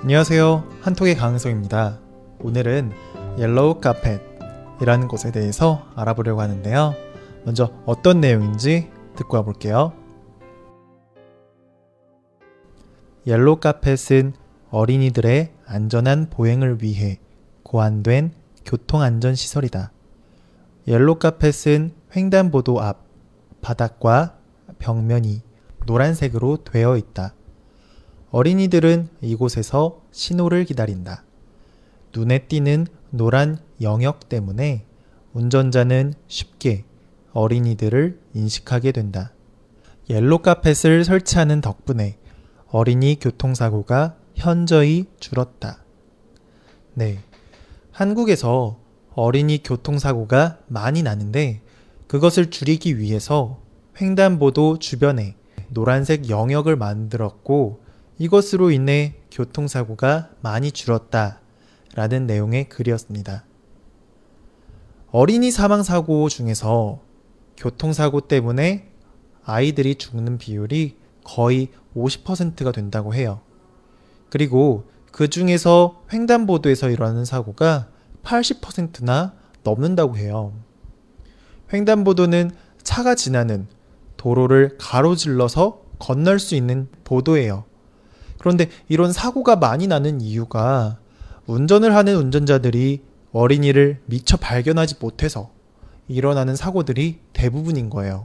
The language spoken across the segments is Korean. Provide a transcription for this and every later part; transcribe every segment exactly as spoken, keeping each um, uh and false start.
안녕하세요. 한톡의 강은성입니다. 오늘은 옐로우 카펫이라는 곳에 대해서 알아보려고 하는데요. 먼저 어떤 내용인지 듣고 와볼게요. 옐로우 카펫은 어린이들의 안전한 보행을 위해 고안된 교통안전시설이다. 옐로우 카펫은 횡단보도 앞 바닥과 벽면이 노란색으로 되어 있다. 어린이들은 이곳에서 신호를 기다린다. 눈에 띄는 노란 영역 때문에 운전자는 쉽게 어린이들을 인식하게 된다. 옐로우 카펫을 설치하는 덕분에 어린이 교통사고가 현저히 줄었다. 네, 한국에서 어린이 교통사고가 많이 나는데 그것을 줄이기 위해서 횡단보도 주변에 노란색 영역을 만들었고 이것으로 인해 교통사고가 많이 줄었다 라는 내용의 글이었습니다. 어린이 사망사고 중에서 교통사고 때문에 아이들이 죽는 비율이 거의 오십 퍼센트가 된다고 해요. 그리고 그 중에서 횡단보도에서 일어나는 사고가 팔십 퍼센트나 넘는다고 해요. 횡단보도는 차가 지나는 도로를 가로질러서 건널 수 있는 보도예요. 그런데 이런 사고가 많이 나는 이유가 운전을 하는 운전자들이 어린이를 미처 발견하지 못해서 일어나는 사고들이 대부분인 거예요.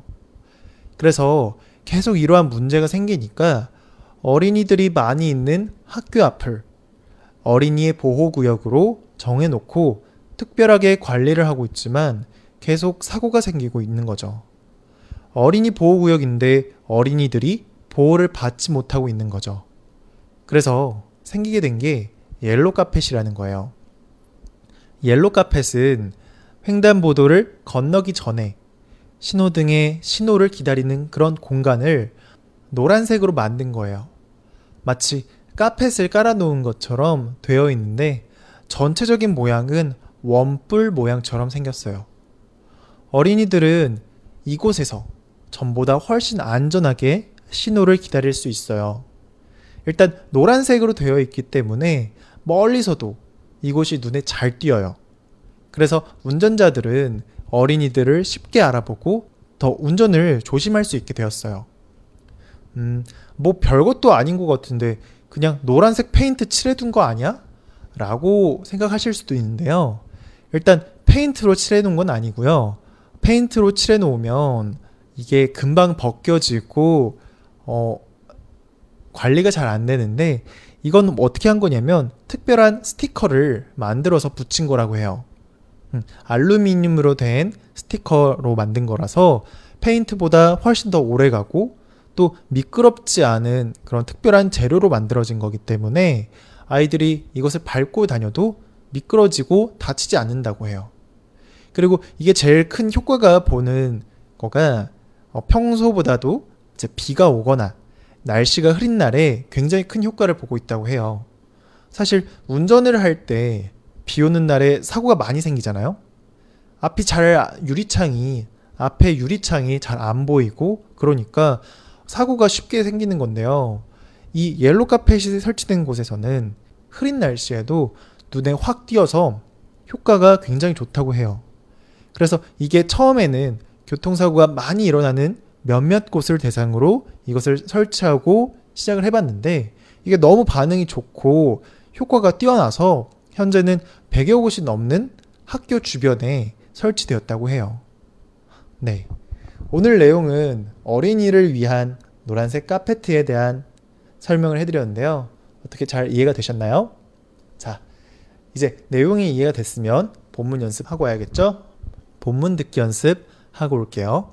그래서 계속 이러한 문제가 생기니까 어린이들이 많이 있는 학교 앞을 어린이의 보호구역으로 정해놓고 특별하게 관리를 하고 있지만 계속 사고가 생기고 있는 거죠. 어린이 보호구역인데 어린이들이 보호를 받지 못하고 있는 거죠. 그래서 생기게 된 게 옐로우 카펫이라는 거예요. 옐로우 카펫은 횡단보도를 건너기 전에 신호등의 신호를 기다리는 그런 공간을 노란색으로 만든 거예요. 마치 카펫을 깔아놓은 것처럼 되어 있는데 전체적인 모양은 원뿔 모양처럼 생겼어요. 어린이들은 이곳에서 전보다 훨씬 안전하게 신호를 기다릴 수 있어요. 일단 노란색으로 되어 있기 때문에 멀리서도 이곳이 눈에 잘 띄어요. 그래서 운전자들은 어린이들을 쉽게 알아보고 더 운전을 조심할 수 있게 되었어요. 음, 뭐 별것도 아닌 것 같은데 그냥 노란색 페인트 칠해둔 거 아니야? 라고 생각하실 수도 있는데요. 일단 페인트로 칠해놓은 건 아니고요. 페인트로 칠해놓으면 이게 금방 벗겨지고 어, 관리가 잘 안 되는데 이건 어떻게 한 거냐면 특별한 스티커를 만들어서 붙인 거라고 해요. 음, 알루미늄으로 된 스티커로 만든 거라서 페인트보다 훨씬 더 오래 가고 또 미끄럽지 않은 그런 특별한 재료로 만들어진 거기 때문에 아이들이 이것을 밟고 다녀도 미끄러지고 다치지 않는다고 해요. 그리고 이게 제일 큰 효과가 보는 거가 평소보다도 이제 비가 오거나 날씨가 흐린 날에 굉장히 큰 효과를 보고 있다고 해요. 사실 운전을 할 때 비 오는 날에 사고가 많이 생기잖아요. 앞이 잘 유리창이 앞에 유리창이 잘 안 보이고 그러니까 사고가 쉽게 생기는 건데요. 이 옐로우 카펫이 설치된 곳에서는 흐린 날씨에도 눈에 확 띄어서 효과가 굉장히 좋다고 해요. 그래서 이게 처음에는 교통사고가 많이 일어나는 몇몇 곳을 대상으로 이것을 설치하고 시작을 해봤는데 이게 너무 반응이 좋고 효과가 뛰어나서 현재는 백여 곳이 넘는 학교 주변에 설치되었다고 해요. 네, 오늘 내용은 어린이를 위한 노란색 카페트에 대한 설명을 해드렸는데요. 어떻게 잘 이해가 되셨나요? 자, 이제 내용이 이해가 됐으면 본문 연습하고 와야겠죠? 본문 듣기 연습하고 올게요.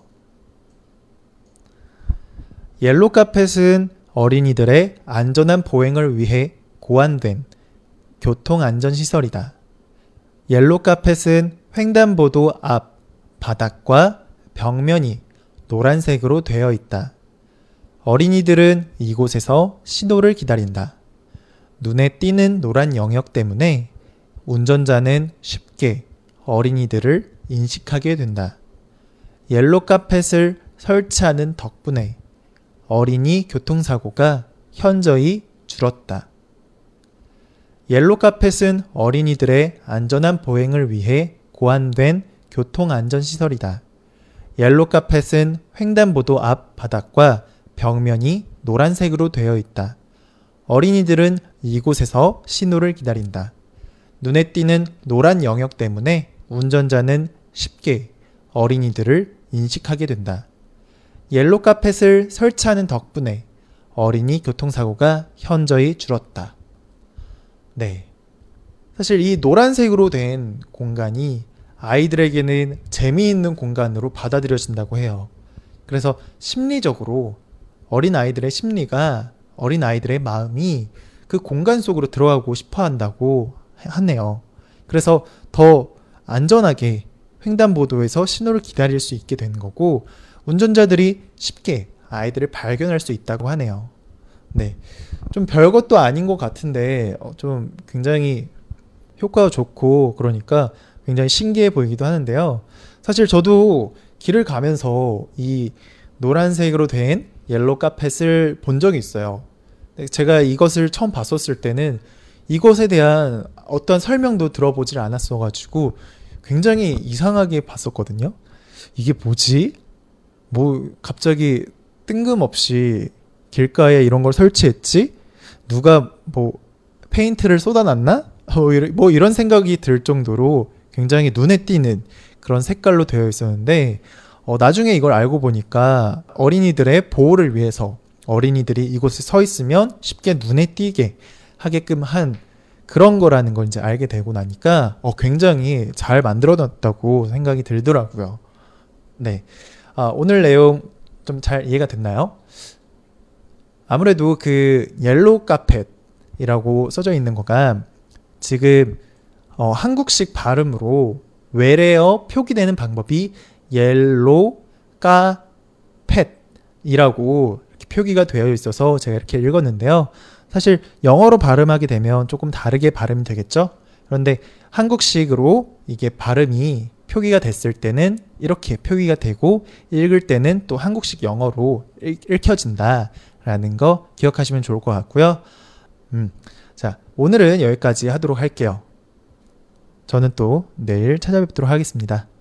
옐로우 카펫은 어린이들의 안전한 보행을 위해 고안된 교통안전시설이다. 옐로우 카펫은 횡단보도 앞 바닥과 벽면이 노란색으로 되어 있다. 어린이들은 이곳에서 신호를 기다린다. 눈에 띄는 노란 영역 때문에 운전자는 쉽게 어린이들을 인식하게 된다. 옐로우 카펫을 설치하는 덕분에 어린이 교통사고가 현저히 줄었다. 옐로 카펫은 어린이들의 안전한 보행을 위해 고안된 교통안전시설이다. 옐로 카펫은 횡단보도 앞 바닥과 벽면이 노란색으로 되어 있다. 어린이들은 이곳에서 신호를 기다린다. 눈에 띄는 노란 영역 때문에 운전자는 쉽게 어린이들을 인식하게 된다. 옐로 카펫을 설치하는 덕분에 어린이 교통사고가 현저히 줄었다. 네. 사실 이 노란색으로 된 공간이 아이들에게는 재미있는 공간으로 받아들여진다고 해요. 그래서 심리적으로 어린 아이들의 심리가, 어린 아이들의 마음이 그 공간 속으로 들어가고 싶어 한다고 하네요. 그래서 더 안전하게 횡단보도에서 신호를 기다릴 수 있게 되는 거고, 운전자들이 쉽게 아이들을 발견할 수 있다고 하네요. 네. 좀 별것도 아닌 것 같은데, 어, 좀 굉장히 효과가 좋고, 그러니까 굉장히 신기해 보이기도 하는데요. 사실 저도 길을 가면서 이 노란색으로 된 옐로 카펫을 본 적이 있어요. 제가 이것을 처음 봤었을 때는 이것에 대한 어떤 설명도 들어보질 않았어가지고 굉장히 이상하게 봤었거든요. 이게 뭐지? 뭐 갑자기 뜬금없이 길가에 이런 걸 설치했지? 누가 뭐 페인트를 쏟아놨나? 뭐 이런 생각이 들 정도로 굉장히 눈에 띄는 그런 색깔로 되어 있었는데, 어, 나중에 이걸 알고 보니까 어린이들의 보호를 위해서 어린이들이 이곳에 서 있으면 쉽게 눈에 띄게 하게끔 한 그런 거라는 걸 이제 알게 되고 나니까 어, 굉장히 잘 만들어놨다고 생각이 들더라고요. 네. 아, 오늘 내용 좀 잘 이해가 됐나요? 아무래도 그 옐로우 카펫이라고 써져 있는 거가 지금 어, 한국식 발음으로 외래어 표기되는 방법이 옐로우 카펫이라고 이렇게 표기가 되어 있어서 제가 이렇게 읽었는데요. 사실 영어로 발음하게 되면 조금 다르게 발음이 되겠죠? 그런데 한국식으로 이게 발음이 표기가 됐을 때는 이렇게 표기가 되고, 읽을 때는 또 한국식 영어로 읽, 읽혀진다라는 거 기억하시면 좋을 것 같고요. 음, 자, 오늘은 여기까지 하도록 할게요. 저는 또 내일 찾아뵙도록 하겠습니다.